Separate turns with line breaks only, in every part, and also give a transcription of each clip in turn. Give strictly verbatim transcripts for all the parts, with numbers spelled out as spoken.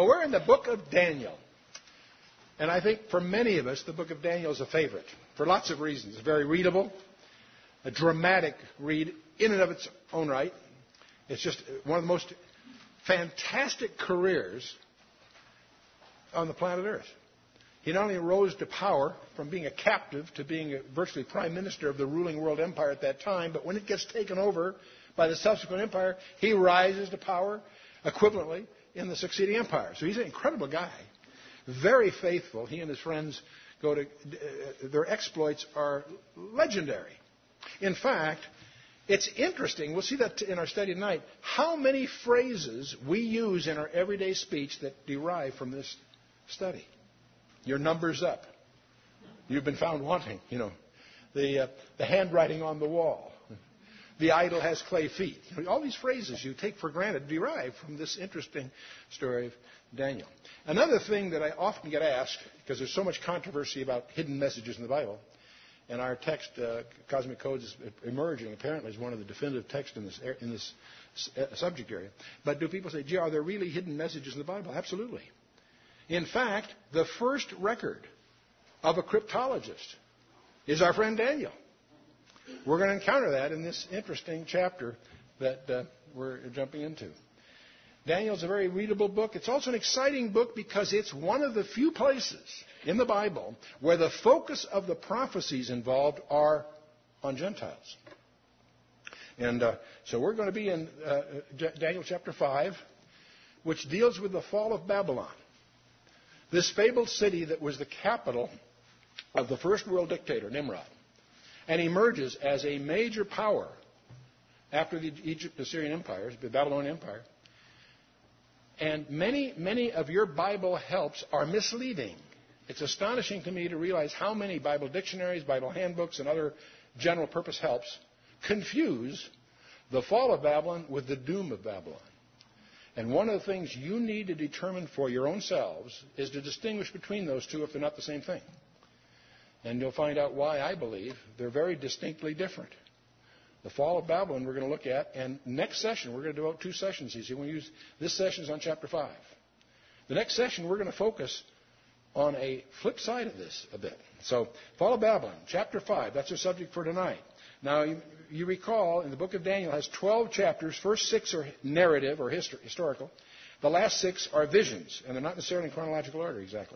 Well, we're in the book of Daniel. And I think for many of us, the book of Daniel is a favorite for lots of reasons. It's very readable, a dramatic read in and of its own right. It's just one of the most fantastic careers on the planet Earth. He not only rose to power from being a captive to being a virtually prime minister of the ruling world empire at that time, but when it gets taken over by the subsequent empire, he rises to power equivalently in the succeeding empire. So he's an incredible guy, very faithful. He and his friends go to, uh, their exploits are legendary. In fact, it's interesting, we'll see that in our study tonight, how many phrases we use in our everyday speech that derive from this study. Your number's up. You've been found wanting, you know. The, uh, the handwriting on the wall. The idol has clay feet. All these phrases you take for granted derive from this interesting story of Daniel. Another thing that I often get asked, because there's so much controversy about hidden messages in the Bible, and our text, uh, Cosmic Codes, is emerging apparently as one of the definitive texts in this, in this subject area. But do people say, gee, are there really hidden messages in the Bible? Absolutely. In fact, the first record of a cryptologist is our friend Daniel. We're going to encounter that in this interesting chapter that uh, we're jumping into. Daniel's a very readable book. It's also an exciting book because it's one of the few places in the Bible where the focus of the prophecies involved are on Gentiles. And uh, so we're going to be in uh, Daniel chapter five, which deals with the fall of Babylon. This fabled city that was the capital of the first world dictator, Nimrod, and emerges as a major power after the Egypt Assyrian empires, the Babylonian Empire. And many, many of your Bible helps are misleading. It's astonishing to me to realize how many Bible dictionaries, Bible handbooks, and other general purpose helps confuse the fall of Babylon with the doom of Babylon. And one of the things you need to determine for your own selves is to distinguish between those two if they're not the same thing. And you'll find out why I believe they're very distinctly different. The fall of Babylon we're going to look at, and next session we're going to devote two sessions. You see, we use this session is on chapter five. The next session we're going to focus on a flip side of this a bit. So, fall of Babylon, chapter five. That's our subject for tonight. Now, you, you recall, in the book of Daniel, it has twelve chapters. First six are narrative or histor- historical. The last six are visions, and they're not necessarily in chronological order exactly.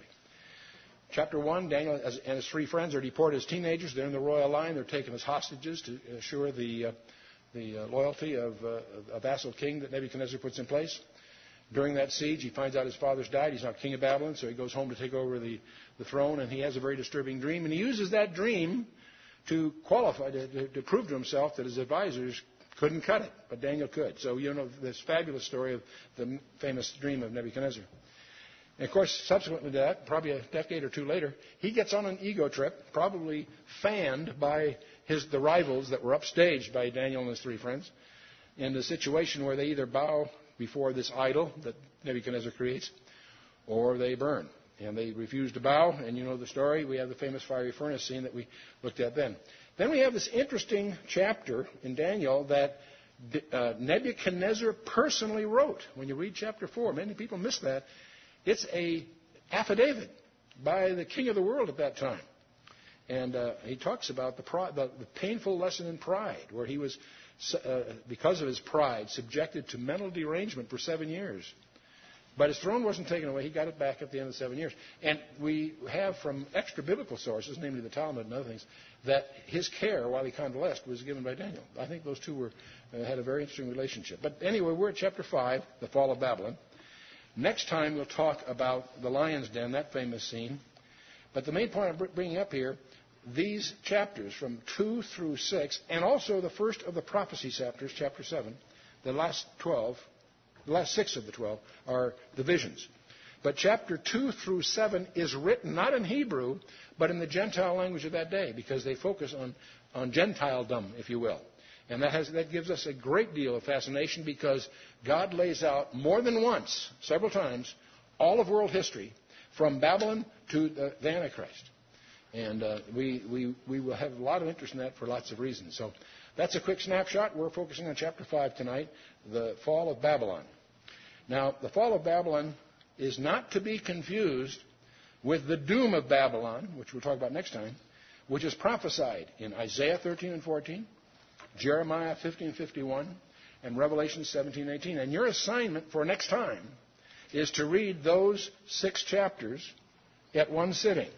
Chapter one, Daniel and his three friends are deported as teenagers. They're in the royal line. They're taken as hostages to assure the, uh, the uh, loyalty of uh, a vassal king that Nebuchadnezzar puts in place. During that siege, he finds out his father's died. He's not king of Babylon, so he goes home to take over the, the throne, and he has a very disturbing dream. And he uses that dream to qualify, to, to, to prove to himself that his advisors couldn't cut it, but Daniel could. So you know this fabulous story of the famous dream of Nebuchadnezzar. And of course, subsequently to that, probably a decade or two later, he gets on an ego trip, probably fanned by his, the rivals that were upstaged by Daniel and his three friends, in a situation where they either bow before this idol that Nebuchadnezzar creates, or they burn. And they refuse to bow, and you know the story. We have the famous fiery furnace scene that we looked at then. Then we have this interesting chapter in Daniel that uh, Nebuchadnezzar personally wrote. When you read chapter four, many people miss that. It's a affidavit by the king of the world at that time. And uh, he talks about the, pride, the, the painful lesson in pride, where he was, uh, because of his pride, subjected to mental derangement for seven years. But his throne wasn't taken away. He got it back at the end of seven years. And we have from extra-biblical sources, namely the Talmud and other things, that his care while he convalesced was given by Daniel. I think those two were, uh, had a very interesting relationship. But anyway, we're at chapter five, the fall of Babylon. Next time we'll talk about the lion's den, that famous scene. But the main point I'm bringing up here, these chapters from two through six, and also the first of the prophecy chapters, chapter seven, the last twelve, the last six of the twelve are the visions. But chapter two through seven is written not in Hebrew, but in the Gentile language of that day, because they focus on, on Gentiledom, if you will. And that, has, that gives us a great deal of fascination because God lays out more than once, several times, all of world history from Babylon to the, the Antichrist. And uh, we, we, we will have a lot of interest in that for lots of reasons. So that's a quick snapshot. We're focusing on chapter five tonight, the fall of Babylon. Now, the fall of Babylon is not to be confused with the doom of Babylon, which we'll talk about next time, which is prophesied in Isaiah thirteen and fourteen, Jeremiah fifteen fifty-one, and Revelation seventeen eighteen. And your assignment for next time is to read those six chapters at one sitting.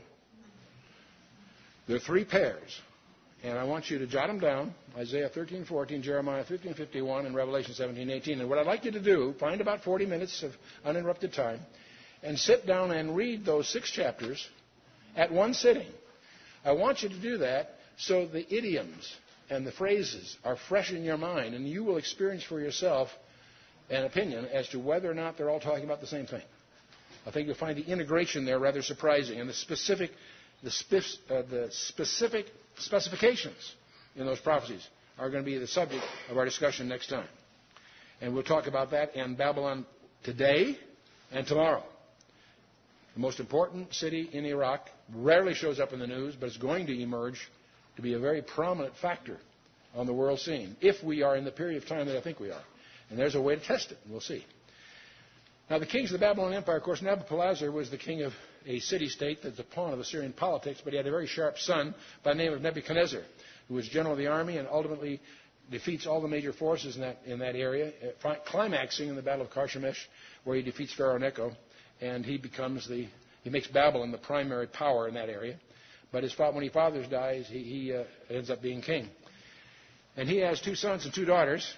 There are three pairs. And I want you to jot them down, Isaiah thirteen fourteen, Jeremiah fifteen fifty-one, and Revelation seventeen eighteen. And what I'd like you to do, find about forty minutes of uninterrupted time, and sit down and read those six chapters at one sitting. I want you to do that so the idioms and the phrases are fresh in your mind, and you will experience for yourself an opinion as to whether or not they're all talking about the same thing. I think you'll find the integration there rather surprising, and the specific, the, spif, uh, the specific specifications in those prophecies are going to be the subject of our discussion next time. And we'll talk about that and Babylon today and tomorrow. The most important city in Iraq rarely shows up in the news, but it's going to emerge to be a very prominent factor on the world scene if we are in the period of time that I think we are. And there's a way to test it, and we'll see. Now, the kings of the Babylonian Empire, of course, Nabopolassar was the king of a city-state that's a pawn of Assyrian politics, but he had a very sharp son by the name of Nebuchadnezzar, who was general of the army and ultimately defeats all the major forces in that, in that area, uh, climaxing in the Battle of Carchemish, where he defeats Pharaoh Necho, and he becomes the, he makes Babylon the primary power in that area. But his father, when his father dies, he, he uh, ends up being king. And he has two sons and two daughters.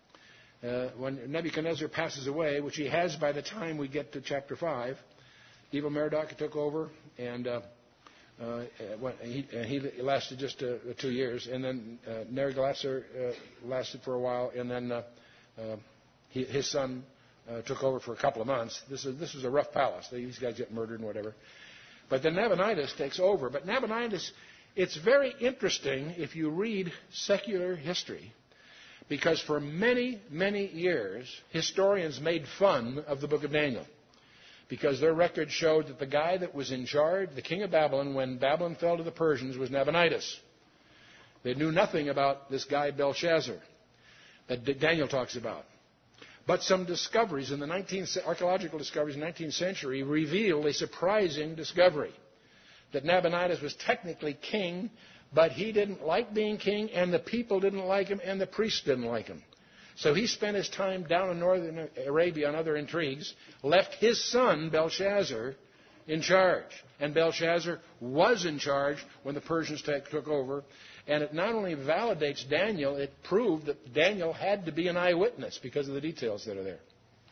Uh, when Nebuchadnezzar passes away, which he has by the time we get to chapter five, Evil Merodach took over, and uh, uh, he, uh, he lasted just uh, two years. And then uh, Neriglissar uh, lasted for a while, and then uh, uh, he, his son uh, took over for a couple of months. This is this was a rough palace. These guys get murdered and whatever. But then Nabonidus takes over. But Nabonidus, it's very interesting if you read secular history, because for many, many years, historians made fun of the book of Daniel, because their records showed that the guy that was in charge, the king of Babylon, when Babylon fell to the Persians, was Nabonidus. They knew nothing about this guy Belshazzar that Daniel talks about. But some discoveries in the nineteenth, archaeological discoveries in the nineteenth century revealed a surprising discovery, that Nabonidus was technically king, but he didn't like being king, and the people didn't like him, and the priests didn't like him. So he spent his time down in northern Arabia on other intrigues, left his son Belshazzar in charge. And Belshazzar was in charge when the Persians t- took over. And it not only validates Daniel, it proved that Daniel had to be an eyewitness because of the details that are there.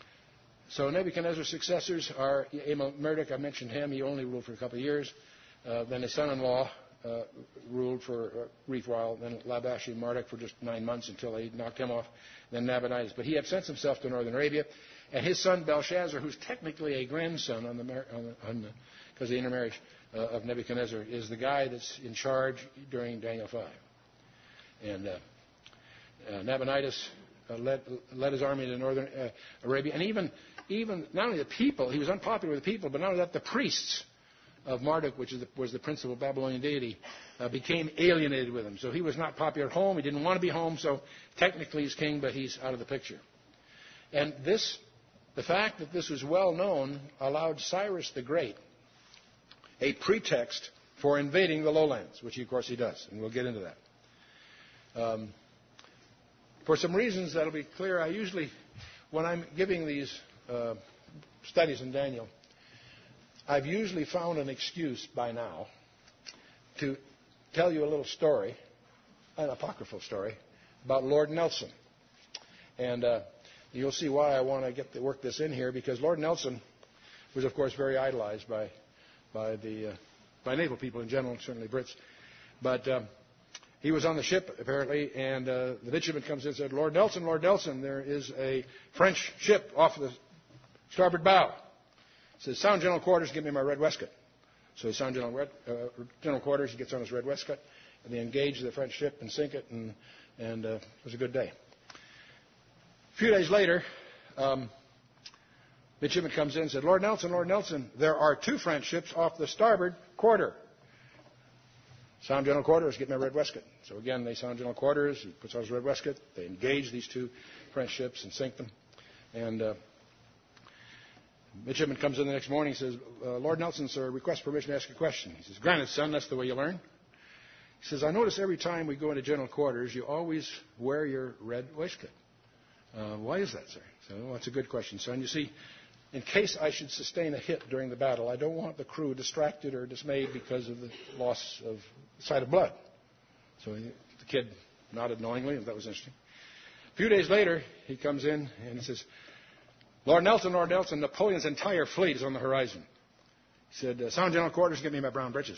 So Nebuchadnezzar's successors are Merodach, I mentioned him. He only ruled for a couple of years. Uh, then his son-in-law uh, ruled for a brief while. Then Labashi Marduk for just nine months until they knocked him off. Then Nabonidus. But he absents himself to northern Arabia. And his son Belshazzar, who's technically a grandson on the, on the, on the because of the intermarriage uh, of Nebuchadnezzar, is the guy that's in charge during Daniel five. And uh, uh, Nabonidus uh, led, led his army to northern uh, Arabia. And even, even not only the people, he was unpopular with the people, but not only that, the priests of Marduk, which is the, was the principal Babylonian deity, uh, became alienated with him. So he was not popular at home. He didn't want to be home. So technically he's king, but he's out of the picture. And this, the fact that this was well known allowed Cyrus the Great a pretext for invading the lowlands, which of course he does, and we'll get into that. Um, for some reasons that will be clear, I usually, when I'm giving these uh, studies in Daniel, I've usually found an excuse by now to tell you a little story, an apocryphal story, about Lord Nelson. And uh, you'll see why I want to get to work this in here, because Lord Nelson was, of course, very idolized by by the uh, by naval people in general, certainly Brits. But um, he was on the ship, apparently, and uh, the midshipman comes in and said, Lord Nelson, Lord Nelson, there is a French ship off the starboard bow. He says, sound general quarters, give me my red waistcoat. So he sound general, uh, general quarters, he gets on his red waistcoat, and they engage the French ship and sink it, and, and uh, it was a good day. A few days later, um, midshipman comes in and said, Lord Nelson, Lord Nelson, there are two French ships off the starboard quarter. Sound general quarters, get my red waistcoat. So again, they sound general quarters, he puts on his red waistcoat, they engage these two French ships and sink them. And uh, Midshipman comes in the next morning and says, uh, Lord Nelson, sir, request permission to ask a question. He says, granted, son, that's the way you learn. He says, I notice every time we go into general quarters, you always wear your red waistcoat. Uh, why is that, sir? So, well, that's a good question, son. You see, in case I should sustain a hit during the battle, I don't want the crew distracted or dismayed because of the loss of sight of blood. So he, the kid nodded knowingly, and that was interesting. A few days later, he comes in and he says, Lord Nelson, Lord Nelson, Napoleon's entire fleet is on the horizon. He said, uh, sound general quarters, give me my brown breeches.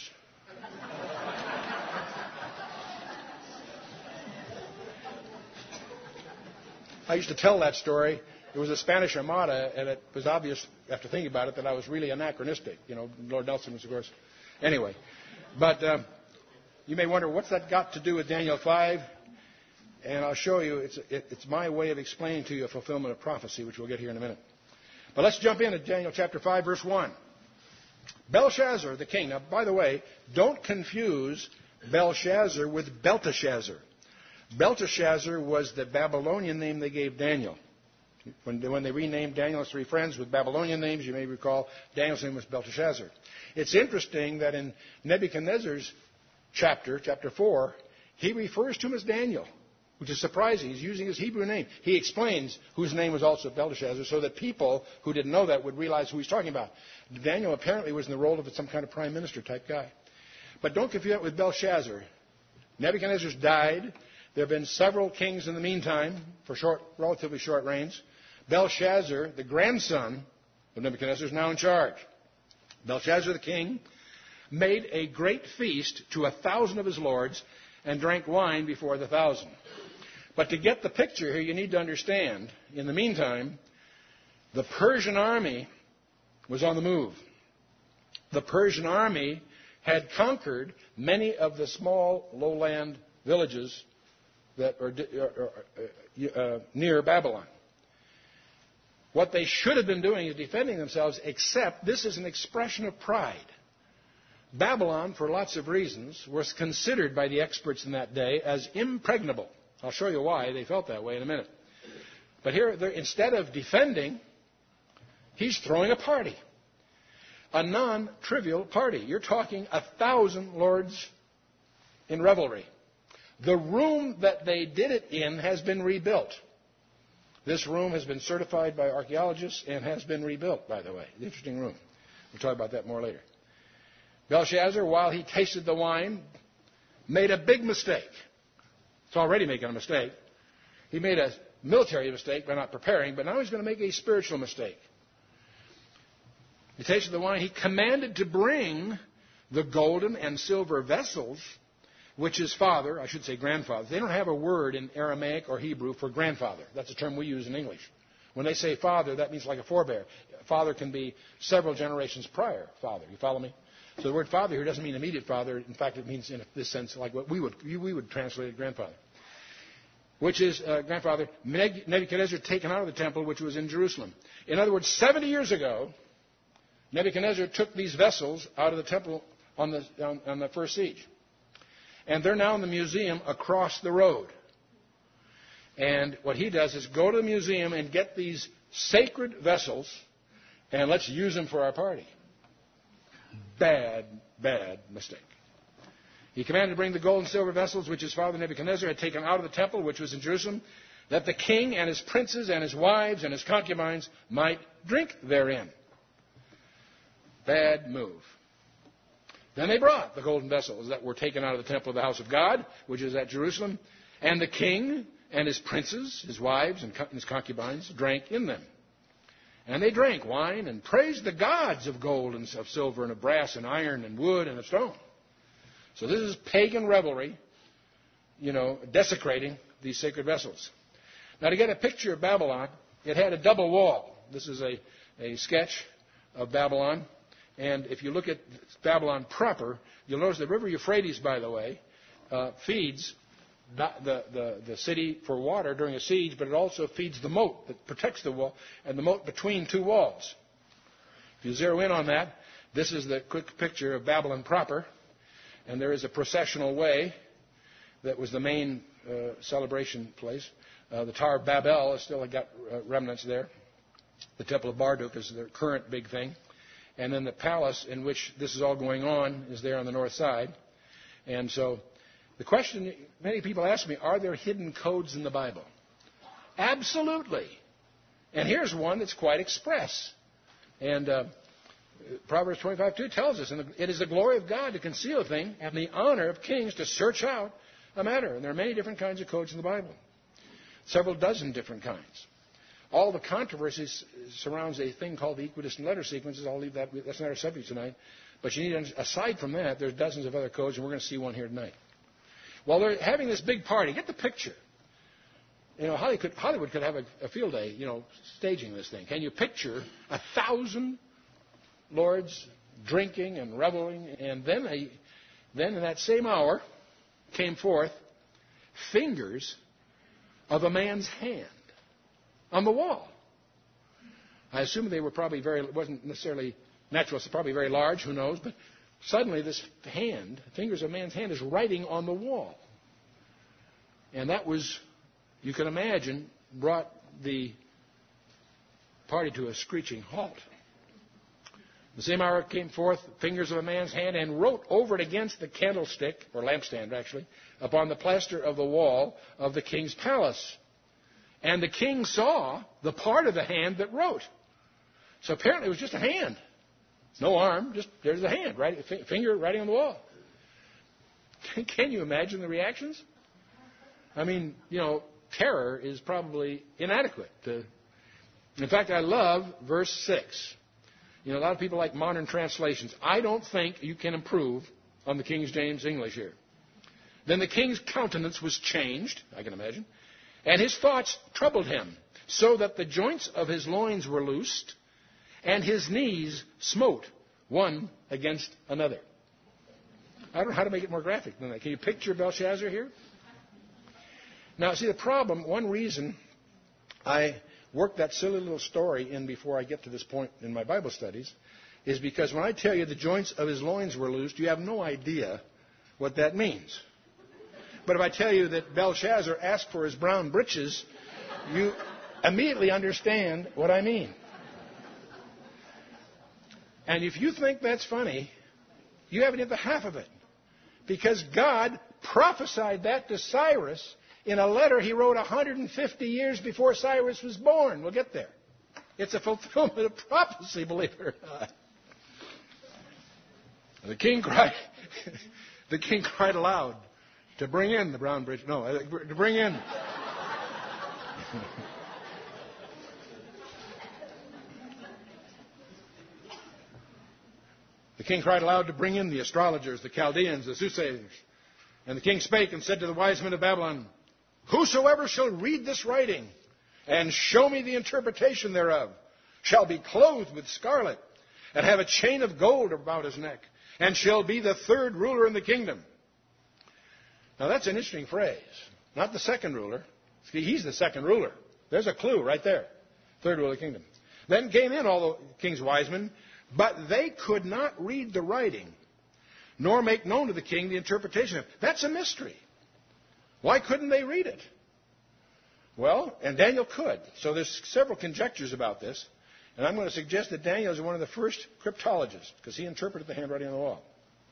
I used to tell that story. It was a Spanish Armada, and it was obvious after thinking about it that I was really anachronistic. You know, Lord Nelson was, of course. Anyway, but uh, you may wonder, what's that got to do with Daniel five? And I'll show you. It's, it, it's my way of explaining to you a fulfillment of prophecy, which we'll get here in a minute. But let's jump in at Daniel chapter five, verse one. Belshazzar, the king. Now, by the way, don't confuse Belshazzar with Belteshazzar. Belteshazzar was the Babylonian name they gave Daniel. When, when they renamed Daniel's three friends with Babylonian names, you may recall Daniel's name was Belteshazzar. It's interesting that in Nebuchadnezzar's chapter, chapter four, he refers to him as Daniel, which is surprising. He's using his Hebrew name. He explains whose name was also Belteshazzar so that people who didn't know that would realize who he's talking about. Daniel apparently was in the role of some kind of prime minister type guy. But don't confuse that with Belshazzar. Nebuchadnezzar's died. There have been several kings in the meantime for short, relatively short reigns. Belshazzar, the grandson of Nebuchadnezzar, is now in charge. Belshazzar, the king, made a great feast to a thousand of his lords and drank wine before the thousand. But to get the picture here, you need to understand, in the meantime, the Persian army was on the move. The Persian army had conquered many of the small lowland villages that are uh, uh, near Babylon. What they should have been doing is defending themselves, except this is an expression of pride. Babylon, for lots of reasons, was considered by the experts in that day as impregnable. I'll show you why they felt that way in a minute. But here, instead of defending, he's throwing a party. A non-trivial party. You're talking a thousand lords in revelry. The room that they did it in has been rebuilt. This room has been certified by archaeologists and has been rebuilt, by the way. An interesting room. We'll talk about that more later. Belshazzar, while he tasted the wine, made a big mistake. It's already making a mistake. He made a military mistake by not preparing, but now he's going to make a spiritual mistake. He tasted the wine. He commanded to bring the golden and silver vessels which his father, I should say grandfather. They don't have a word in Aramaic or Hebrew for grandfather. That's a term we use in English. When they say father, that means like a forebear. Father can be several generations prior father. You follow me? So the word father here doesn't mean immediate father. In fact, it means in this sense like what we would we would translate it grandfather. Which is uh, grandfather. Nebuchadnezzar taken out of the temple, which was in Jerusalem. In other words, seventy years ago, Nebuchadnezzar took these vessels out of the temple on the on, on the first siege. And they're now in the museum across the road. And what he does is go to the museum and get these sacred vessels, and let's use them for our party. Bad, bad mistake. He commanded to bring the gold and silver vessels which his father Nebuchadnezzar had taken out of the temple, which was in Jerusalem, that the king and his princes and his wives and his concubines might drink therein. Bad move. Then they brought the golden vessels that were taken out of the temple of the house of God, which is at Jerusalem, and the king and his princes, his wives and his concubines, drank in them. And they drank wine and praised the gods of gold and of silver and of brass and iron and wood and of stone. So this is pagan revelry, you know, desecrating these sacred vessels. Now, to get a picture of Babylon, it had a double wall. This is a, a sketch of Babylon. And if you look at Babylon proper, you'll notice the river Euphrates, by the way, uh, feeds the, the, the city for water during a siege, but it also feeds the moat that protects the wall and the moat between two walls. If you zero in on that, this is the quick picture of Babylon proper. And there is a processional way that was the main uh, celebration place. Uh, the Tower of Babel has still got uh, remnants there. The Temple of Marduk is the current big thing. And then the palace in which this is all going on is there on the north side. And so the question many people ask me, are there hidden codes in the Bible? Absolutely. And here's one that's quite express. And uh, Proverbs twenty-five two tells us, and it is the glory of God to conceal a thing, and the honor of kings to search out a matter. And there are many different kinds of codes in the Bible. Several dozen different kinds. All the controversy surrounds a thing called the equidistant letter sequences. I'll leave that. That's not our subject tonight. But you need to, aside from that, there's dozens of other codes, and we're going to see one here tonight. While they're having this big party, get the picture. You know, Hollywood could, Hollywood could have a, a field day, you know, staging this thing. Can you picture a thousand lords drinking and reveling, and then a, then in that same hour came forth fingers of a man's hand on the wall. I assume they were probably very, it wasn't necessarily natural, it's probably very large, who knows, but suddenly this hand, fingers of a man's hand, is writing on the wall. And that was, you can imagine, brought the party to a screeching halt. The same hour came forth fingers of a man's hand and wrote over it against the candlestick, or lampstand actually, upon the plaster of the wall of the king's palace. And the king saw the part of the hand that wrote. So apparently it was just a hand. No arm, just there's a hand, right, finger writing on the wall. Can you imagine the reactions? I mean, you know, terror is probably inadequate. To, in fact, I love verse six. You know, a lot of people like modern translations. I don't think you can improve on the King James English here. Then the king's countenance was changed, I can imagine, and his thoughts troubled him, so that the joints of his loins were loosed, and his knees smote one against another. I don't know how to make it more graphic than that. Can you picture Belshazzar here? Now, see, the problem, one reason I work that silly little story in before I get to this point in my Bible studies is because when I tell you the joints of his loins were loosed, you have no idea what that means. But if I tell you that Belshazzar asked for his brown breeches, you immediately understand what I mean. And if you think that's funny, you haven't hit the half of it. Because God prophesied that to Cyrus in a letter he wrote one hundred fifty years before Cyrus was born. We'll get there. It's a fulfillment of prophecy, believe it or not. The king cried, the king cried aloud to bring in the brown bridge. No, to bring in. The king cried aloud to bring in the astrologers, the Chaldeans, the soothsayers. And the king spake and said to the wise men of Babylon, whosoever shall read this writing and show me the interpretation thereof shall be clothed with scarlet and have a chain of gold about his neck and shall be the third ruler in the kingdom. Now that's an interesting phrase. Not the second ruler. See, he's the second ruler. There's a clue right there. Third ruler of the kingdom. Then came in all the king's wise men, but they could not read the writing, nor make known to the king the interpretation of it. That's a mystery. Why couldn't they read it? Well, and Daniel could. So there's several conjectures about this. And I'm going to suggest that Daniel is one of the first cryptologists, because he interpreted the handwriting on the wall.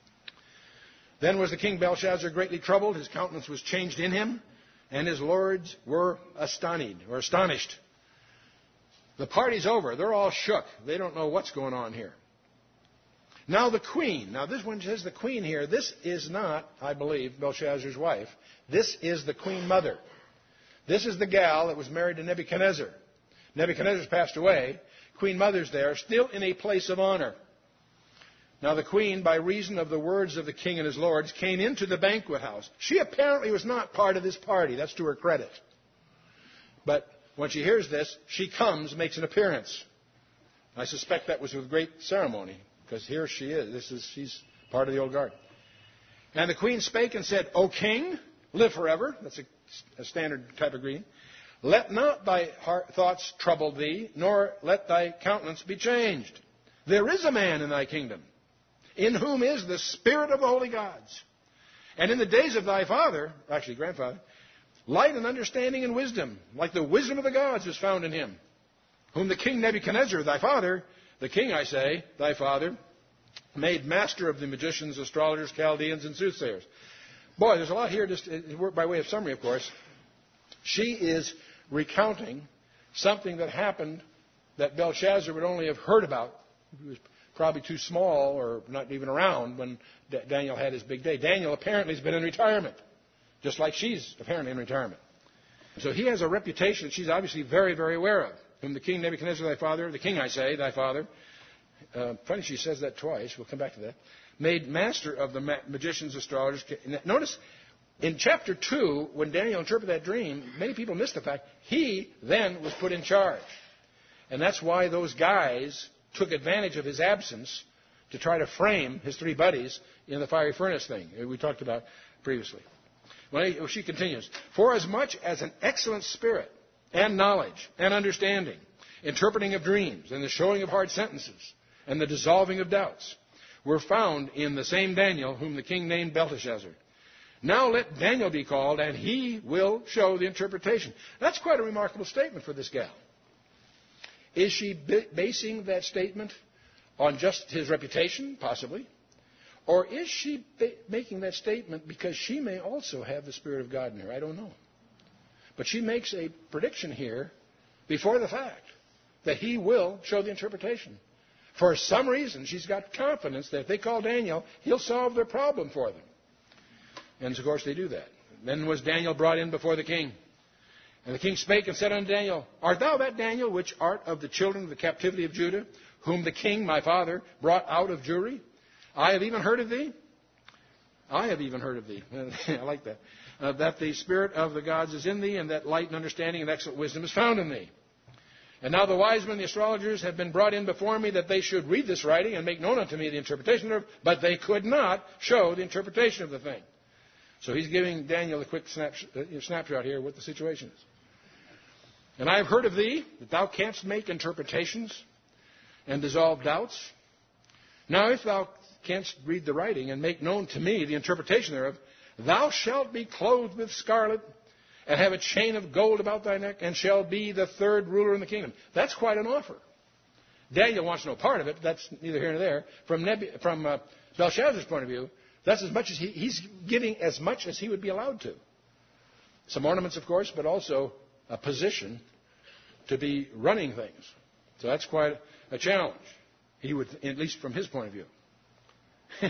Then was the king Belshazzar greatly troubled. His countenance was changed in him, and his lords were astonished, or astonished. The party's over. They're all shook. They don't know what's going on here. Now the queen. Now this one says the queen here. This is not, I believe, Belshazzar's wife. This is the queen mother. This is the gal that was married to Nebuchadnezzar. Nebuchadnezzar's passed away. Queen mother's there, still in a place of honor. Now the queen, by reason of the words of the king and his lords, came into the banquet house. She apparently was not part of this party. That's to her credit. But when she hears this, she comes, makes an appearance. I suspect that was with great ceremony, because here she is. This is she's part of the old guard. And the queen spake and said, O king, live forever. That's a, a standard type of greeting. Let not thy heart, thoughts trouble thee, nor let thy countenance be changed. There is a man in thy kingdom, in whom is the spirit of the holy gods. And in the days of thy father, actually grandfather, light and understanding and wisdom, like the wisdom of the gods, was found in him. whom the king Nebuchadnezzar, thy father, the king, I say, thy father, made master of the magicians, astrologers, Chaldeans, and soothsayers. Boy, there's a lot here, just by way of summary, of course. She is recounting something that happened that Belshazzar would only have heard about. He was probably too small or not even around when D- Daniel had his big day. Daniel apparently has been in retirement, just like she's apparently in retirement. So he has a reputation that she's obviously very, very aware of. Whom the king Nebuchadnezzar, thy father, the king, I say, thy father, uh, funny she says that twice, we'll come back to that, made master of the ma- magicians, astrologers. Notice in chapter two, when Daniel interpreted that dream, many people missed the fact he then was put in charge. And that's why those guys took advantage of his absence to try to frame his three buddies in the fiery furnace thing we talked about previously. Well, she continues, for as much as an excellent spirit and knowledge and understanding, interpreting of dreams and the showing of hard sentences and the dissolving of doubts were found in the same Daniel whom the king named Belteshazzar. Now let Daniel be called, and he will show the interpretation. That's quite a remarkable statement for this gal. Is she basing that statement on just his reputation? Possibly. Or is she making that statement because she may also have the Spirit of God in her? I don't know. But she makes a prediction here before the fact that he will show the interpretation. For some reason, she's got confidence that if they call Daniel, he'll solve their problem for them. And, of course, they do that. Then was Daniel brought in before the king. And the king spake and said unto Daniel, art thou that Daniel which art of the children of the captivity of Judah, whom the king, my father, brought out of Jewry? I have even heard of thee. I have even heard of thee. I like that. Uh, that the spirit of the gods is in thee, and that light and understanding and excellent wisdom is found in thee. And now the wise men, the astrologers, have been brought in before me, that they should read this writing and make known unto me the interpretation thereof, but they could not show the interpretation of the thing. So he's giving Daniel a quick snap, uh, snapshot here of what the situation is. And I have heard of thee, that thou canst make interpretations and dissolve doubts. Now if thou canst read the writing and make known to me the interpretation thereof, thou shalt be clothed with scarlet, and have a chain of gold about thy neck, and shall be the third ruler in the kingdom. That's quite an offer. Daniel wants no part of it. That's neither here nor there. From, Nebu- from uh, Belshazzar's point of view, that's as much as he, he's giving as much as he would be allowed to. Some ornaments, of course, but also a position to be running things. So that's quite a challenge. He would, at least from his point of view.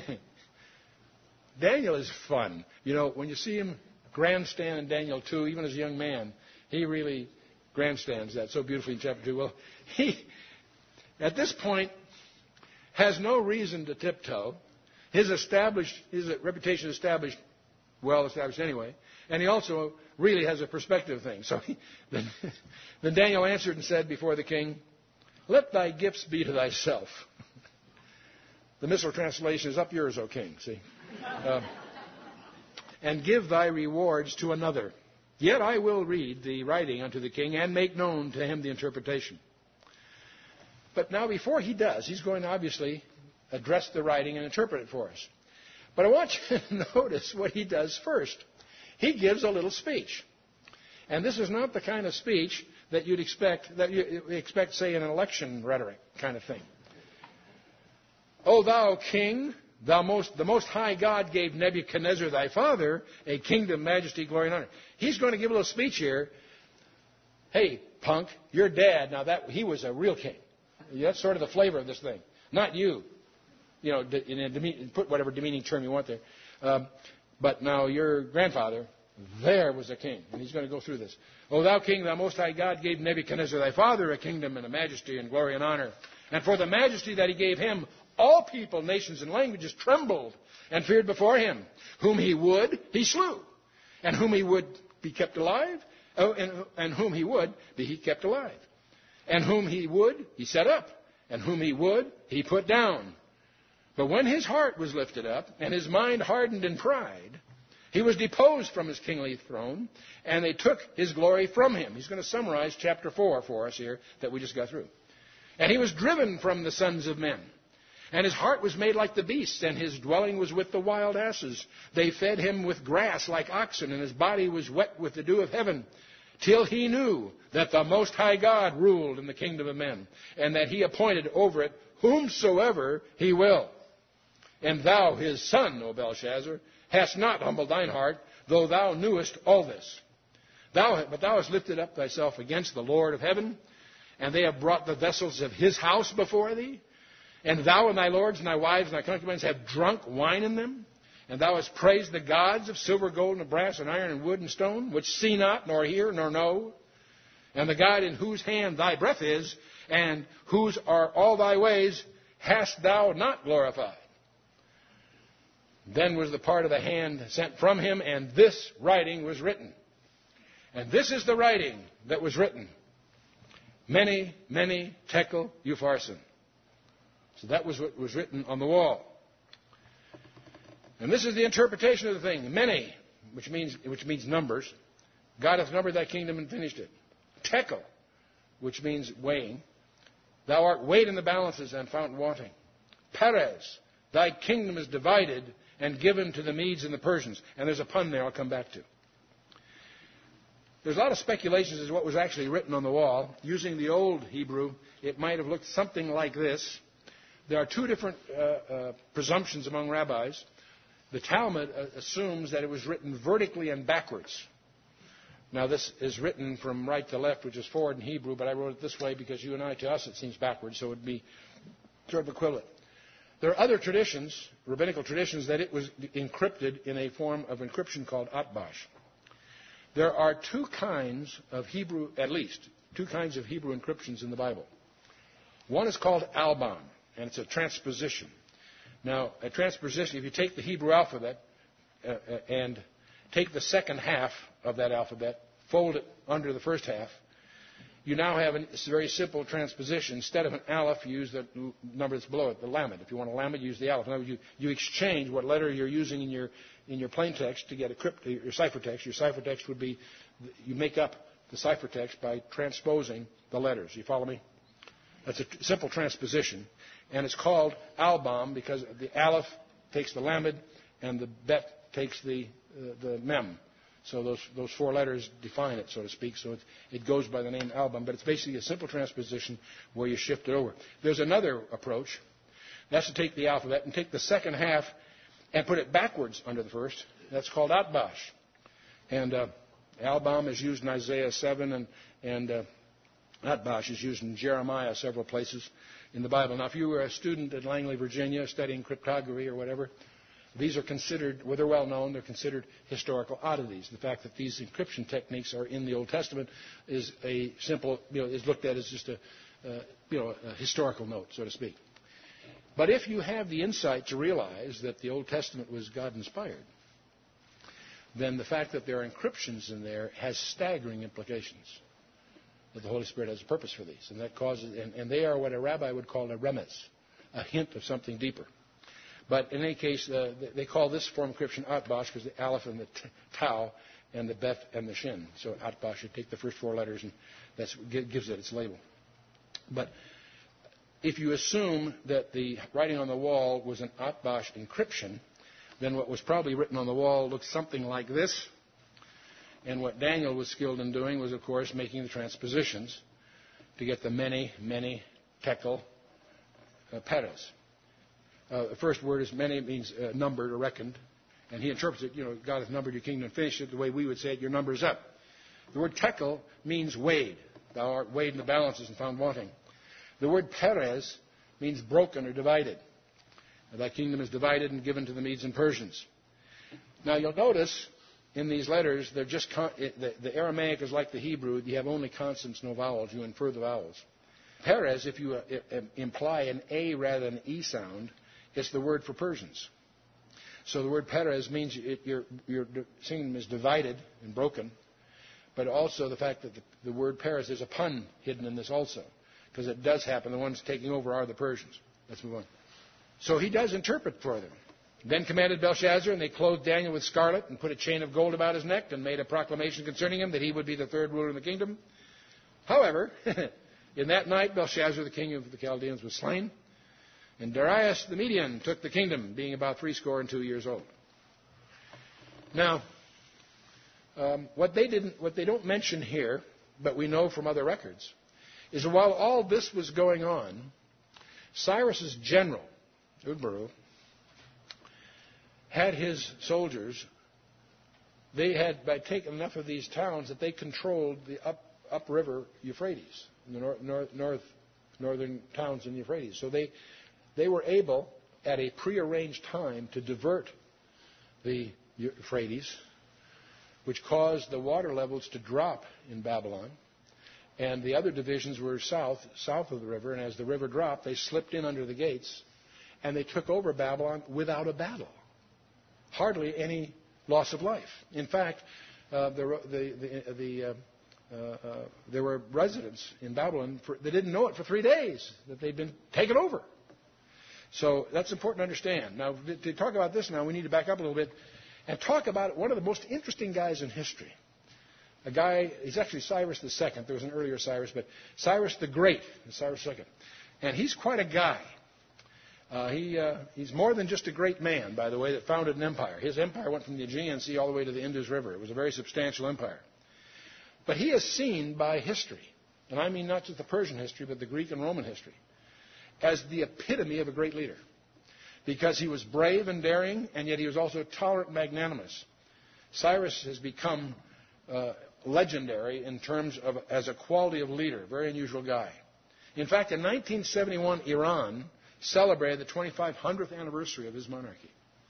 Daniel is fun. You know, when you see him grandstand in Daniel two, even as a young man, he really grandstands that so beautifully in chapter two. Well, he, at this point, has no reason to tiptoe. His established, his reputation is established, well established anyway, and he also really has a perspective thing. So he, then, then Daniel answered and said before the king, let thy gifts be to thyself. The Missal translation is up yours, O king. See? Um, and give thy rewards to another. Yet I will read the writing unto the king and make known to him the interpretation. But now before he does, he's going to obviously address the writing and interpret it for us. But I want you to notice what he does first. He gives a little speech. And this is not the kind of speech that you'd expect, that you expect, say, in an election rhetoric kind of thing. O thou king, thou most, the Most High God gave Nebuchadnezzar thy father a kingdom, majesty, glory, and honor. He's going to give a little speech here. Hey, punk, your dad, now that he was a real king. That's sort of the flavor of this thing. Not you. You know, in a deme- put whatever demeaning term you want there. Um, but now your grandfather, there was a king. And he's going to go through this. O thou king, thou Most High God gave Nebuchadnezzar thy father a kingdom and a majesty and glory and honor. And for the majesty that he gave him, all people, nations, and languages trembled and feared before him. Whom he would, he slew. And whom he would be kept alive, oh, and, and whom he would be he kept alive. And whom he would, he set up. And whom he would, he put down. But when his heart was lifted up, and his mind hardened in pride, he was deposed from his kingly throne, and they took his glory from him. He's going to summarize chapter four for us here that we just got through. And he was driven from the sons of men. And his heart was made like the beasts, and his dwelling was with the wild asses. They fed him with grass like oxen, and his body was wet with the dew of heaven. till he knew that the Most High God ruled in the kingdom of men, and that he appointed over it whomsoever he will. And thou, his son, O Belshazzar, hast not humbled thine heart, though thou knewest all this. Thou, but thou hast lifted up thyself against the Lord of heaven, and they have brought the vessels of his house before thee. And thou and thy lords and thy wives and thy concubines have drunk wine in them. And thou hast praised the gods of silver, gold, and brass, and iron, and wood, and stone, which see not, nor hear, nor know. And the God in whose hand thy breath is, and whose are all thy ways, hast thou not glorified. Then was the part of the hand sent from him, and this writing was written. And this is the writing that was written. Mene, Mene, Tekel, Upharsin. So that was what was written on the wall. And this is the interpretation of the thing. Mene, which means, which means numbers. God hath numbered thy kingdom and finished it. Tekel, which means weighing. Thou art weighed in the balances and found wanting. Peres, thy kingdom is divided and given to the Medes and the Persians. And there's a pun there I'll come back to. There's a lot of speculations as to what was actually written on the wall. Using the old Hebrew, it might have looked something like this. There are two different uh, uh, presumptions among rabbis. The Talmud uh, assumes that it was written vertically and backwards. Now, this is written from right to left, which is forward in Hebrew, but I wrote it this way because you and I, to us, it seems backwards, so it would be sort of equivalent. There are other traditions, rabbinical traditions, that it was encrypted in a form of encryption called Atbash. There are two kinds of Hebrew, at least, two kinds of Hebrew encryptions in the Bible. One is called Albam, and it's a transposition. Now, a transposition, if you take the Hebrew alphabet uh, and take the second half of that alphabet, fold it under the first half, you now have a very simple transposition. Instead of an aleph, you use the number that's below it, the lamed. If you want a lamed, you use the aleph. In other words, you, you exchange what letter you're using in your in your plain text to get a crypt, your ciphertext. Your ciphertext would be, you make up the ciphertext by transposing the letters. You follow me? That's a simple transposition. And it's called Albam because the aleph takes the lamed and the bet takes the uh, the mem. So those those four letters define it, so to speak. So it, it goes by the name Albam. But it's basically a simple transposition where you shift it over. There's another approach. That's to take the alphabet and take the second half and put it backwards under the first. That's called Atbash. And uh, Albam is used in Isaiah seven, and, and uh, Atbash is used in Jeremiah several places in the Bible. Now, if you were a student at Langley, Virginia, studying cryptography or whatever, these are considered, well, they're well known, they're considered historical oddities. The fact that these encryption techniques are in the Old Testament is a simple, you know, is looked at as just a, uh, you know, a historical note, so to speak. But if you have the insight to realize that the Old Testament was God-inspired, then the fact that there are encryptions in there has staggering implications. That the Holy Spirit has a purpose for these, and that causes, and, and they are what a rabbi would call a remez, a hint of something deeper. But in any case, uh, they call this form of encryption Atbash because the aleph and the t- tau and the bet and the shin. So Atbash, you take the first four letters, and that gives it its label. But if you assume that the writing on the wall was an Atbash encryption, then what was probably written on the wall looks something like this. And what Daniel was skilled in doing was, of course, making the transpositions to get the Mene, Mene, Tekel, uh, Peres. Uh, the first word is Mene, means uh, numbered or reckoned. And he interprets it, you know, God has numbered your kingdom and finished it the way we would say it, your number is up. The word Tekel means weighed. Thou art weighed in the balances and found wanting. The word Peres means broken or divided. Thy kingdom is divided and given to the Medes and Persians. Now you'll notice in these letters, they're just con- the, the Aramaic is like the Hebrew. You have only consonants, no vowels. You infer the vowels. Peres, if you uh, imply an A rather than an E sound, it's the word for Persians. So the word Peres means it, your, your kingdom is divided and broken. But also the fact that the, the word Peres, there's a pun hidden in this also. Because it does happen. The ones taking over are the Persians. Let's move on. So he does interpret for them. Then commanded Belshazzar, and they clothed Daniel with scarlet and put a chain of gold about his neck and made a proclamation concerning him that he would be the third ruler in the kingdom. However, in that night Belshazzar, the king of the Chaldeans, was slain, and Darius the Median took the kingdom, being about threescore and two years old. Now, Um, what they didn't, what they don't mention here, but we know from other records, is while all this was going on, Cyrus's general, Udbaru, had his soldiers. They had by taken enough of these towns that they controlled the up upriver Euphrates, the north, north, north northern towns in the Euphrates. So they they were able, at a prearranged time, to divert the Euphrates, which caused the water levels to drop in Babylon. And the other divisions were south, south of the river, and as the river dropped, they slipped in under the gates, and they took over Babylon without a battle. Hardly any loss of life. In fact, uh, the, the, the, the, uh, uh, uh, there were residents in Babylon for, that didn't know it for three days, that they'd been taken over. So that's important to understand. Now, to talk about this now, we need to back up a little bit and talk about one of the most interesting guys in history. A guy, he's actually Cyrus the Second. There was an earlier Cyrus, but Cyrus the Great, Cyrus the Second. And he's quite a guy. Uh, he, uh, he's more than just a great man, by the way, that founded an empire. His empire went from the Aegean Sea all the way to the Indus River. It was a very substantial empire. But he is seen by history, and I mean not just the Persian history, but the Greek and Roman history, as the epitome of a great leader. Because he was brave and daring, and yet he was also tolerant and magnanimous. Cyrus has become uh, legendary in terms of as a quality of leader, very unusual guy. In fact, in nineteen seventy-one, Iran celebrated the twenty-five hundredth anniversary of his monarchy.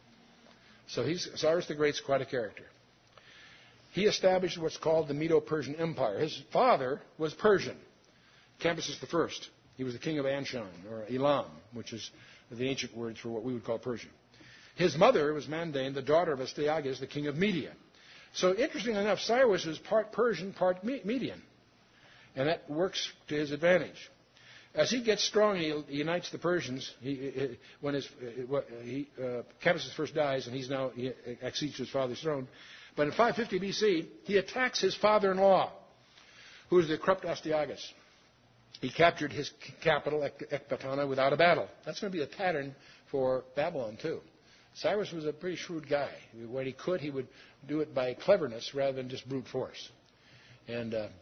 So he's, Cyrus the Great's quite a character. He established what's called the Medo-Persian Empire. His father was Persian, Cambyses the First. He was the king of Anshan, or Elam, which is the ancient words for what we would call Persia. His mother was Mandane, the daughter of Astyages, the king of Media. So interestingly enough, Cyrus is part Persian, part Median. And that works to his advantage. As he gets strong, he unites the Persians. He, he, when his, he, uh, Cambyses first dies, and he's now he accedes to his father's throne. But in five fifty B C, he attacks his father-in-law, who is the corrupt Astyages. He captured his capital, Ecbatana, without a battle. That's going to be a pattern for Babylon, too. Cyrus was a pretty shrewd guy. When he could, he would do it by cleverness rather than just brute force. And uh,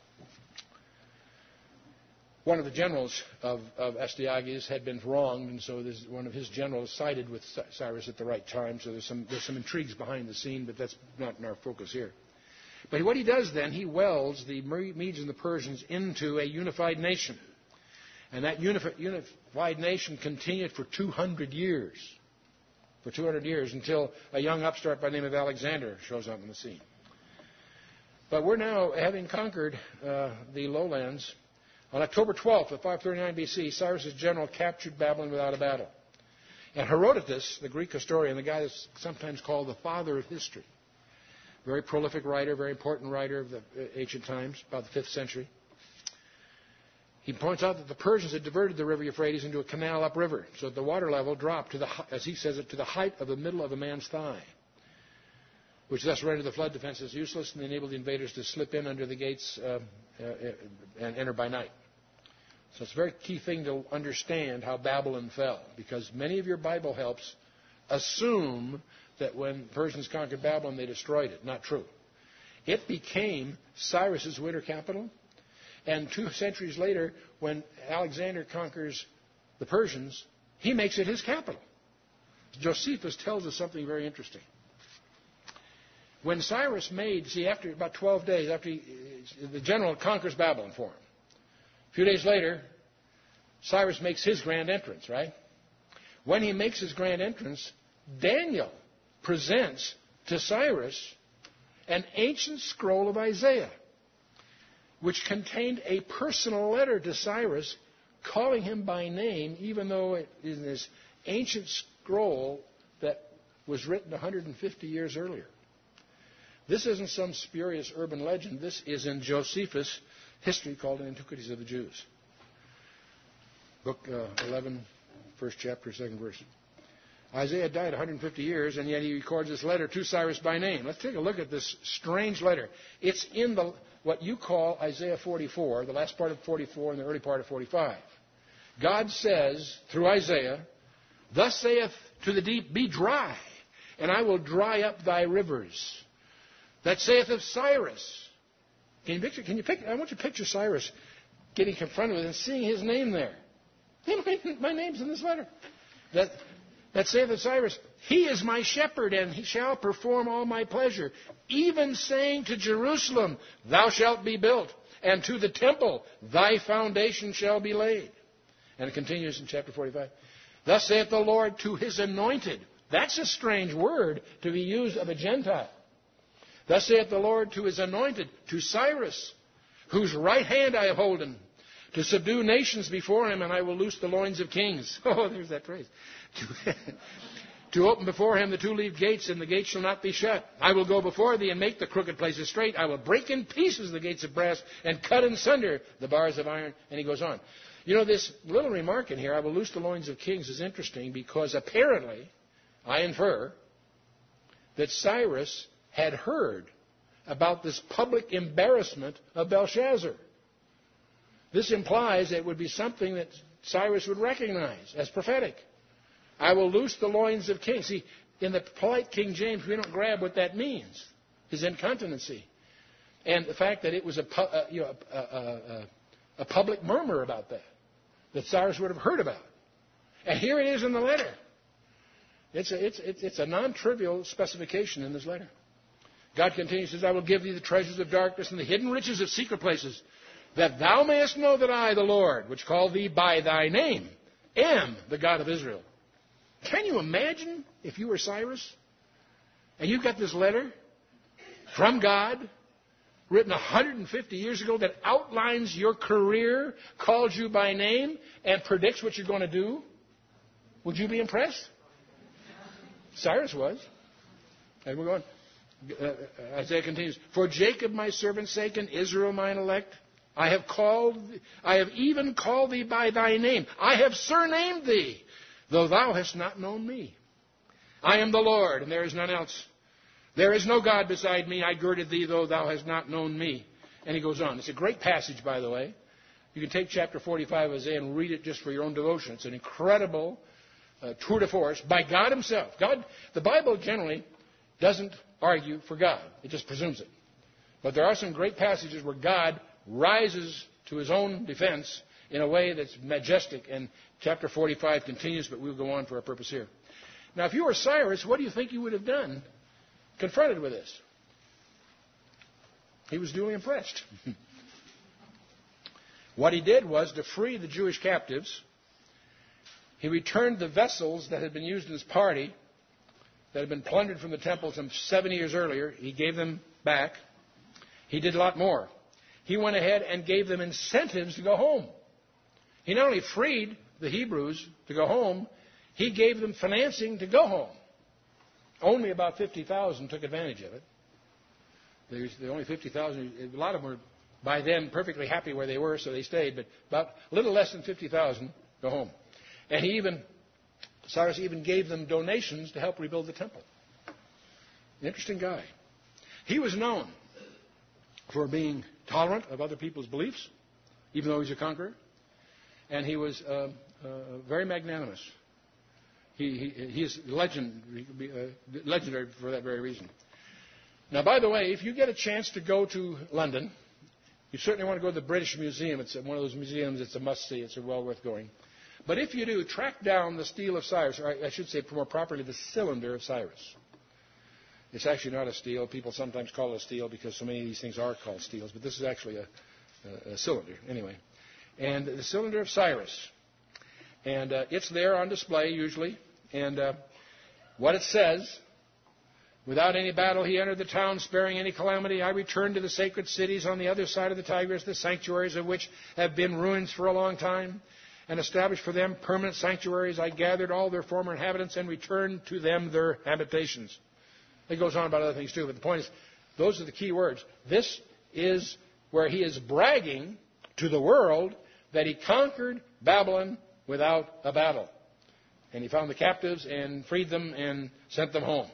one of the generals of, of Astyages had been wronged, and so this, one of his generals sided with Cyrus at the right time. So there's some, there's some intrigues behind the scene, but that's not in our focus here. But what he does then, he welds the Medes and the Persians into a unified nation. And that unifi- unified nation continued for two hundred years. For two hundred years, until a young upstart by the name of Alexander shows up on the scene. But we're now, having conquered uh, the lowlands, on October twelfth of five thirty-nine B C, Cyrus's general captured Babylon without a battle. And Herodotus, the Greek historian, the guy that's sometimes called the father of history, very prolific writer, very important writer of the ancient times, about the fifth century. He points out that the Persians had diverted the river Euphrates into a canal upriver, so that the water level dropped to the, as he says it, to the height of the middle of a man's thigh, which thus rendered the flood defenses useless and enabled the invaders to slip in under the gates uh, uh, and enter by night. So it's a very key thing to understand how Babylon fell, because many of your Bible helps assume that when Persians conquered Babylon, they destroyed it. Not true. It became Cyrus's winter capital. And two centuries later, when Alexander conquers the Persians, he makes it his capital. Josephus tells us something very interesting. When Cyrus made, see, after about twelve days, after he, the general conquers Babylon for him, a few days later, Cyrus makes his grand entrance, right? When he makes his grand entrance, Daniel presents to Cyrus an ancient scroll of Isaiah, which contained a personal letter to Cyrus calling him by name, even though it is this ancient scroll that was written one hundred fifty years earlier. This isn't some spurious urban legend. This is in Josephus' history called Antiquities of the Jews. Book uh, eleven, first chapter, second verse. Isaiah died one hundred fifty years, and yet he records this letter to Cyrus by name. Let's take a look at this strange letter. It's in the what you call Isaiah forty-four, the last part of forty-four and the early part of forty-five. God says, through Isaiah, "Thus saith to the deep, be dry, and I will dry up thy rivers. that saith of Cyrus. Can you picture? Can you pick? I want you to picture Cyrus getting confronted with and seeing his name there. Hey, my, my name's in this letter. That that saith of Cyrus, he is my shepherd, and he shall perform all my pleasure. Even saying to Jerusalem, thou shalt be built, and to the temple, thy foundation shall be laid. And it continues in chapter forty-five. Thus saith the Lord to his anointed. That's a strange word to be used of a Gentile. Thus saith the Lord to his anointed, to Cyrus, whose right hand I have holden, to subdue nations before him, and I will loose the loins of kings. Oh, there's that phrase. To, to open before him the two-leaved gates, and the gates shall not be shut. I will go before thee and make the crooked places straight. I will break in pieces the gates of brass and cut in sunder the bars of iron. And he goes on. You know, this little remark in here, I will loose the loins of kings, is interesting because apparently, I infer, that Cyrus had heard about this public embarrassment of Belshazzar. This implies that it would be something that Cyrus would recognize as prophetic. I will loose the loins of kings. See, in the polite King James, we don't grab what that means, his incontinency. And the fact that it was a, uh, you know, a, a, a, a public murmur about that, that Cyrus would have heard about. And here it is in the letter. It's a, it's, it's, it's a non-trivial specification in this letter. God continues, says, I will give thee the treasures of darkness and the hidden riches of secret places, that thou mayest know that I, the Lord, which call thee by thy name, am the God of Israel. Can you imagine if you were Cyrus and you got this letter from God written one hundred fifty years ago that outlines your career, calls you by name, and predicts what you're going to do? Would you be impressed? Cyrus was. And we're going. Uh, Isaiah continues, for Jacob my servant's sake and Israel mine elect, I have called, I have even called thee by thy name. I have surnamed thee, though thou hast not known me. I am the Lord, and there is none else. There is no God beside me. I girded thee, though thou hast not known me. And he goes on. It's a great passage, by the way. You can take chapter forty-five of Isaiah and read it just for your own devotion. It's an incredible uh, tour de force by God himself. God, the Bible generally doesn't argue for God. It just presumes it. But there are some great passages where God rises to his own defense in a way that's majestic. And chapter forty-five continues, but we'll go on for our purpose here. Now, if you were Cyrus, what do you think you would have done confronted with this? He was duly impressed. What he did was to free the Jewish captives. He returned the vessels that had been used in his party, that had been plundered from the temple some seventy years earlier. He gave them back. He did a lot more. He went ahead and gave them incentives to go home. He not only freed the Hebrews to go home, he gave them financing to go home. Only about fifty thousand took advantage of it. There's only fifty thousand. A lot of them were, by then, perfectly happy where they were, so they stayed. But about a little less than fifty thousand go home. And he even, Cyrus even gave them donations to help rebuild the temple. Interesting guy. He was known for being tolerant of other people's beliefs, even though he's a conqueror. And he was uh, uh, very magnanimous. He, he, he is legend, uh, legendary for that very reason. Now, by the way, if you get a chance to go to London, you certainly want to go to the British Museum. It's one of those museums. It's a must-see. It's well worth going. But if you do, track down the stele of Cyrus, or I should say more properly, the cylinder of Cyrus. It's actually not a stele. People sometimes call it a stele because so many of these things are called steles. But this is actually a, a, a cylinder, anyway. And the cylinder of Cyrus. And uh, it's there on display, usually. And uh, what it says, without any battle he entered the town, sparing any calamity. I returned to the sacred cities on the other side of the Tigris, the sanctuaries of which have been ruins for a long time, and established for them permanent sanctuaries. I gathered all their former inhabitants and returned to them their habitations. It goes on about other things too, but the point is, those are the key words. This is where he is bragging to the world that he conquered Babylon without a battle. And he found the captives and freed them and sent them home.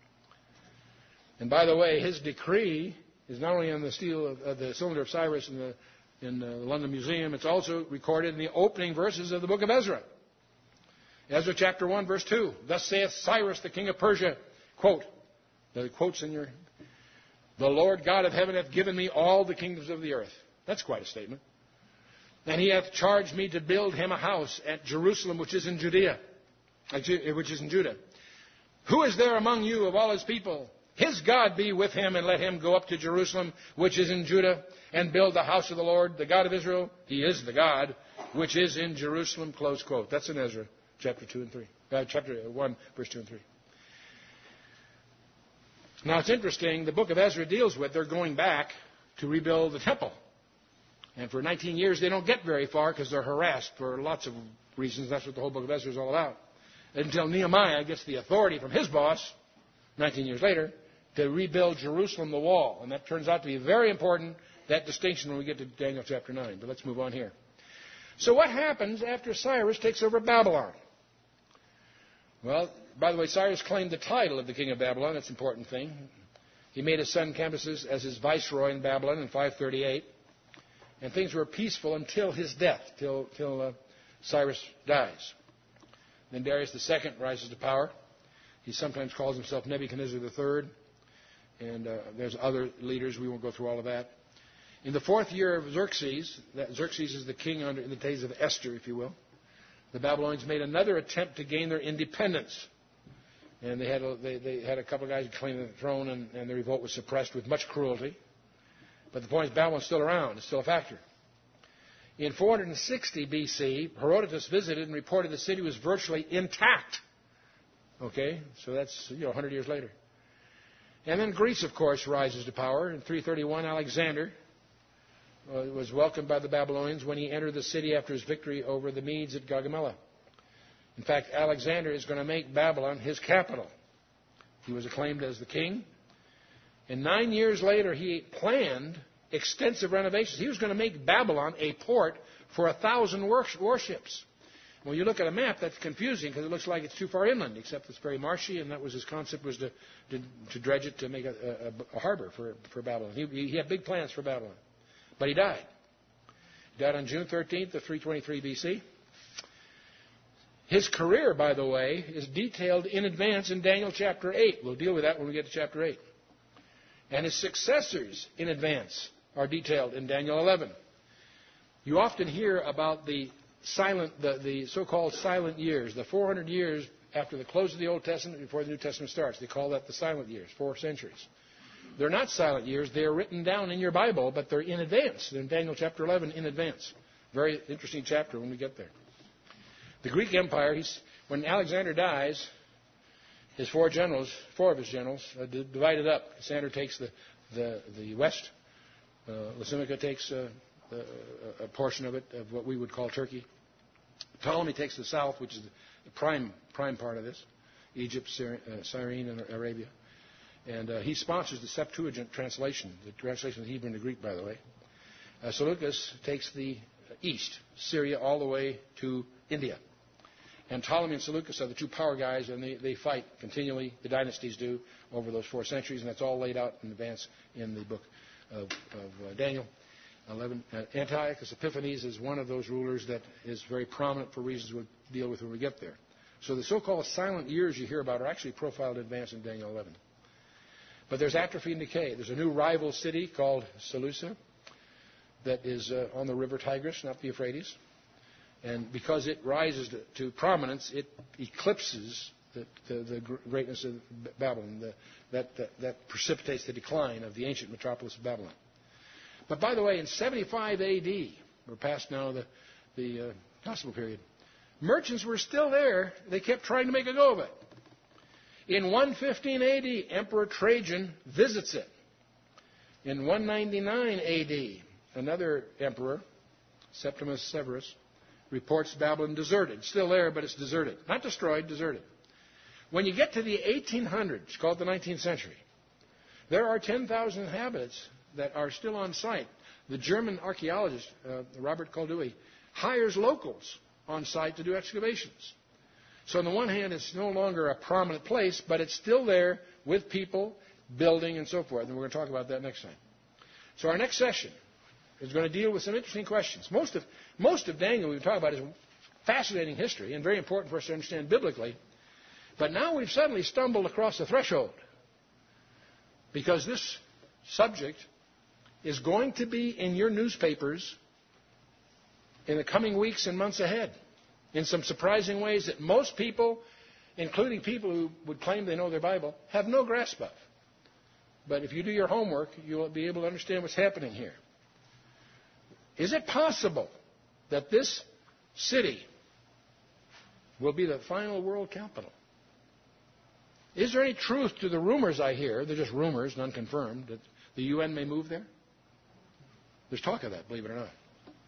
And by the way, his decree is not only on the stele of, of the cylinder of Cyrus in the in the London Museum, it's also recorded in the opening verses of the book of Ezra. Ezra chapter one, verse two. Thus saith Cyrus, the king of Persia, quote, the quotes in your The Lord God of heaven hath given me all the kingdoms of the earth. That's quite a statement. And he hath charged me to build him a house at Jerusalem, which is in Judea, which is in Judah. Who is there among you of all his people? His God be with him, and let him go up to Jerusalem, which is in Judah, and build the house of the Lord, the God of Israel. He is the God, which is in Jerusalem. Close quote. That's in Ezra, chapter two and three. Uh, chapter one, verse two and three. Now it's interesting. The book of Ezra deals with they're going back to rebuild the temple, and for nineteen years they don't get very far because they're harassed for lots of reasons. That's what the whole book of Ezra is all about. Until Nehemiah gets the authority from his boss, nineteen years later, to rebuild Jerusalem, the wall. And that turns out to be very important, that distinction, when we get to Daniel chapter nine. But let's move on here. So what happens after Cyrus takes over Babylon? Well, by the way, Cyrus claimed the title of the king of Babylon. That's an important thing. He made his son Cambyses as his viceroy in Babylon in five thirty-eight. And things were peaceful until his death, till, till uh, Cyrus dies. Then Darius the Second rises to power. He sometimes calls himself Nebuchadnezzar the Third. And uh, there's other leaders. We won't go through all of that. In the fourth year of Xerxes, that Xerxes is the king under, in the days of Esther, if you will, the Babylonians made another attempt to gain their independence. And they had a, they, they had a couple of guys who claimed the throne, and, and the revolt was suppressed with much cruelty. But the point is, Babylon's still around. It's still a factor. In four sixty B C, Herodotus visited and reported the city was virtually intact. Okay, so that's you know one hundred years later. And then Greece, of course, rises to power. In three thirty-one, Alexander uh, was welcomed by the Babylonians when he entered the city after his victory over the Medes at Gaugamela. In fact, Alexander is going to make Babylon his capital. He was acclaimed as the king. And nine years later, he planned extensive renovations. He was going to make Babylon a port for a thousand warships. When you look at a map, that's confusing because it looks like it's too far inland, except it's very marshy, and that was his concept, was to, to, to dredge it to make a, a, a harbor for, for Babylon. He, he had big plans for Babylon. But he died. He died on June thirteenth of three twenty-three B C. His career, by the way, is detailed in advance in Daniel chapter eight. We'll deal with that when we get to chapter eight. And his successors in advance are detailed in Daniel eleven. You often hear about the silent, the, the so-called silent years, the four hundred years after the close of the Old Testament before the New Testament starts. They call that the silent years, four centuries. They're not silent years. They're written down in your Bible, but they're in advance. They're in Daniel chapter eleven in advance. Very interesting chapter when we get there. The Greek Empire, he's, when Alexander dies, his four generals, four of his generals, uh, divided up. Cassander takes the, the, the west. Uh, Lysimachus takes uh, uh, a portion of it, of what we would call Turkey. Ptolemy takes the south, which is the prime, prime part of this, Egypt, Syri- uh, Cyrene, and Arabia. And uh, he sponsors the Septuagint translation, the translation of Hebrew into Greek, by the way. Uh, Seleucus takes the east, Syria, all the way to India. And Ptolemy and Seleucus are the two power guys, and they, they fight continually, the dynasties do, over those four centuries, and that's all laid out in advance in the book of, of uh, Daniel. eleven. Uh, Antiochus Epiphanes is one of those rulers that is very prominent for reasons we'll deal with when we get there. So the so-called silent years you hear about are actually profiled in advance in Daniel eleven. But there's atrophy and decay. There's a new rival city called Seleucia that is uh, on the river Tigris, not the Euphrates. And because it rises to, to prominence, it eclipses the, the, the greatness of Babylon. The, that, that, that precipitates the decline of the ancient metropolis of Babylon. But by the way, in seventy-five A D, we're past now the, the uh, Gospel period, merchants were still there. They kept trying to make a go of it. In one fifteen A D, Emperor Trajan visits it. In one ninety-nine A D, another emperor, Septimus Severus, reports Babylon deserted. Still there, but it's deserted. Not destroyed, deserted. When you get to the eighteen hundreds, called the nineteenth century, there are ten thousand inhabitants that are still on site. The German archaeologist, uh, Robert Koldewey, hires locals on site to do excavations. So on the one hand, it's no longer a prominent place, but it's still there with people, building, and so forth. And we're going to talk about that next time. So our next session is going to deal with some interesting questions. Most of, most of Daniel we've talked about is fascinating history and very important for us to understand biblically. But now we've suddenly stumbled across a threshold, because this subject is going to be in your newspapers in the coming weeks and months ahead in some surprising ways that most people, including people who would claim they know their Bible, have no grasp of. But if you do your homework, you'll be able to understand what's happening here. Is it possible that this city will be the final world capital? Is there any truth to the rumors I hear? They're just rumors, none confirmed, that the U N may move there? There's talk of that, believe it or not.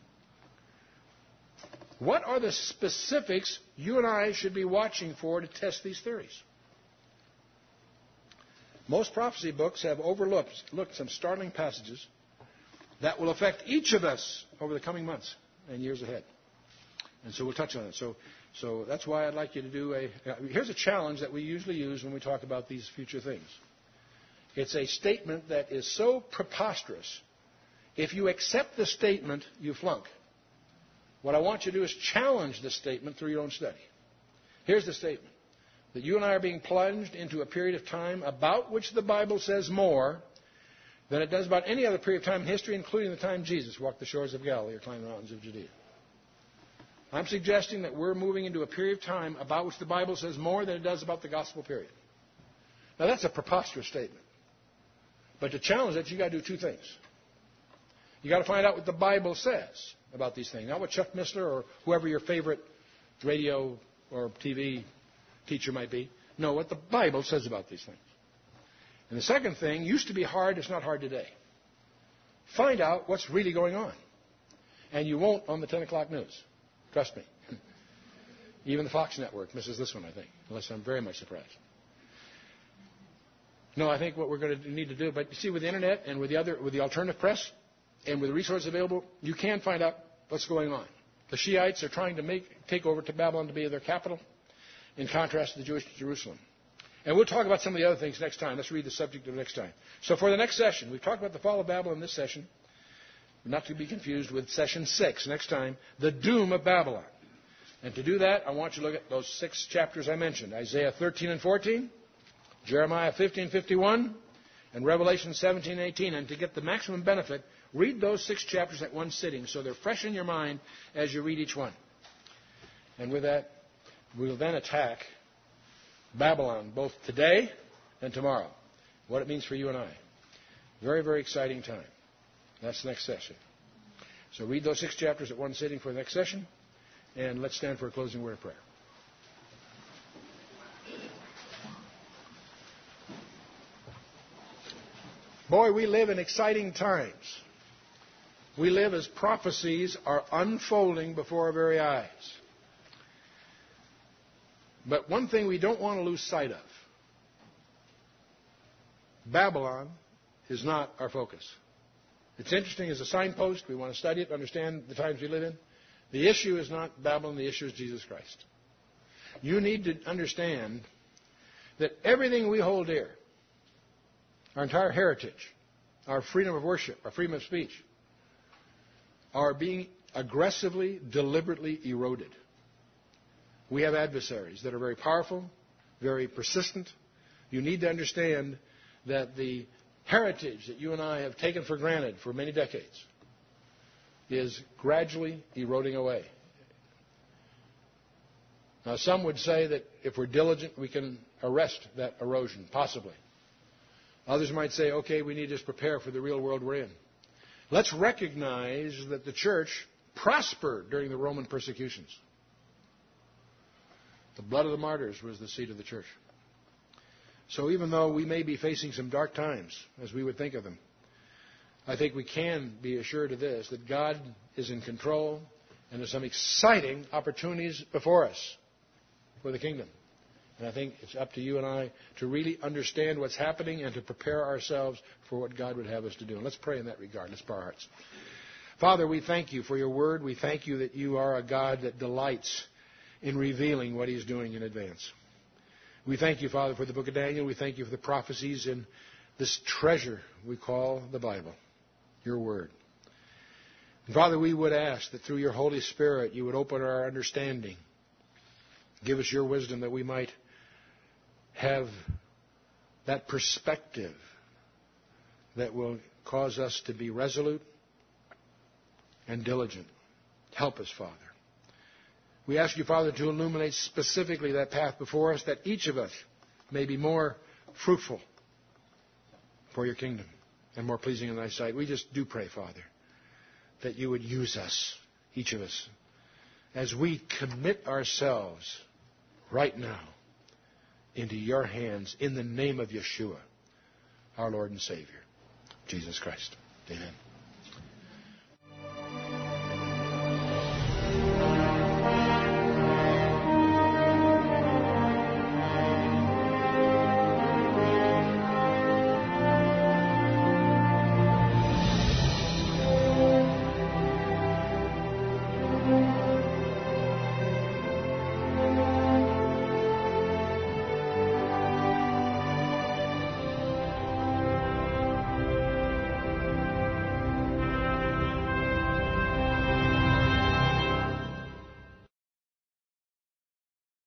What are the specifics you and I should be watching for to test these theories? Most prophecy books have overlooked looked some startling passages that will affect each of us over the coming months and years ahead. And so we'll touch on it. So, so that's why I'd like you to do a... Uh, here's a challenge that we usually use when we talk about these future things. It's a statement that is so preposterous. If you accept the statement, you flunk. What I want you to do is challenge the statement through your own study. Here's the statement. That you and I are being plunged into a period of time about which the Bible says more than it does about any other period of time in history, including the time Jesus walked the shores of Galilee or climbed the mountains of Judea. I'm suggesting that we're moving into a period of time about which the Bible says more than it does about the gospel period. Now, that's a preposterous statement. But to challenge that, you've got to do two things. You've got to find out what the Bible says about these things, not what Chuck Missler or whoever your favorite radio or T V teacher might be. No, what the Bible says about these things. And the second thing used to be hard. It's not hard today. Find out what's really going on. And you won't on the ten o'clock news. Trust me. Even the Fox network misses this one, I think, unless I'm very much surprised. No, I think what we're going to need to do, but you see, with the Internet and with the other, with the alternative press and with the resources available, you can find out what's going on. The Shiites are trying to make take over to Babylon to be their capital, in contrast to the Jewish Jerusalem. And we'll talk about some of the other things next time. Let's read the subject of next time. So for the next session, we've talked about the fall of Babylon in this session, not to be confused with session six next time, the doom of Babylon. And to do that, I want you to look at those six chapters I mentioned, Isaiah thirteen and fourteen, Jeremiah fifteen fifty-one, and Revelation seventeen eighteen. And to get the maximum benefit, read those six chapters at one sitting so they're fresh in your mind as you read each one. And with that, we'll then attack Babylon both today and tomorrow. What it means for you and I. Very, very exciting time. That's the next session. So read those six chapters at one sitting for the next session. And let's stand for a closing word of prayer. Boy, we live in exciting times. We live as prophecies are unfolding before our very eyes. But one thing we don't want to lose sight of. Babylon is not our focus. It's interesting as a signpost. We want to study it, understand the times we live in. The issue is not Babylon. The issue is Jesus Christ. You need to understand that everything we hold dear, our entire heritage, our freedom of worship, our freedom of speech, are being aggressively, deliberately eroded. We have adversaries that are very powerful, very persistent. You need to understand that the heritage that you and I have taken for granted for many decades is gradually eroding away. Now, some would say that if we're diligent, we can arrest that erosion, possibly. Others might say, okay, we need to just prepare for the real world we're in. Let's recognize that the church prospered during the Roman persecutions. The blood of the martyrs was the seed of the church. So even though we may be facing some dark times, as we would think of them, I think we can be assured of this, that God is in control and there's some exciting opportunities before us for the kingdom. And I think it's up to you and I to really understand what's happening and to prepare ourselves for what God would have us to do. And let's pray in that regard. Let's bow our hearts. Father, we thank you for your word. We thank you that you are a God that delights in revealing what he's doing in advance. We thank you, Father, for the book of Daniel. We thank you for the prophecies in this treasure we call the Bible, your word. And Father, we would ask that through your Holy Spirit you would open our understanding. Give us your wisdom that we might have that perspective that will cause us to be resolute and diligent. Help us, Father. We ask you, Father, to illuminate specifically that path before us, that each of us may be more fruitful for your kingdom and more pleasing in thy sight. We just do pray, Father, that you would use us, each of us, as we commit ourselves right now into your hands in the name of Yeshua, our Lord and Savior, Jesus Christ. Amen.